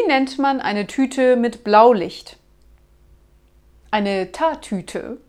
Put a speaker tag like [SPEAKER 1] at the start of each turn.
[SPEAKER 1] nennt man eine Tüte mit Blaulicht? Eine Tatüte.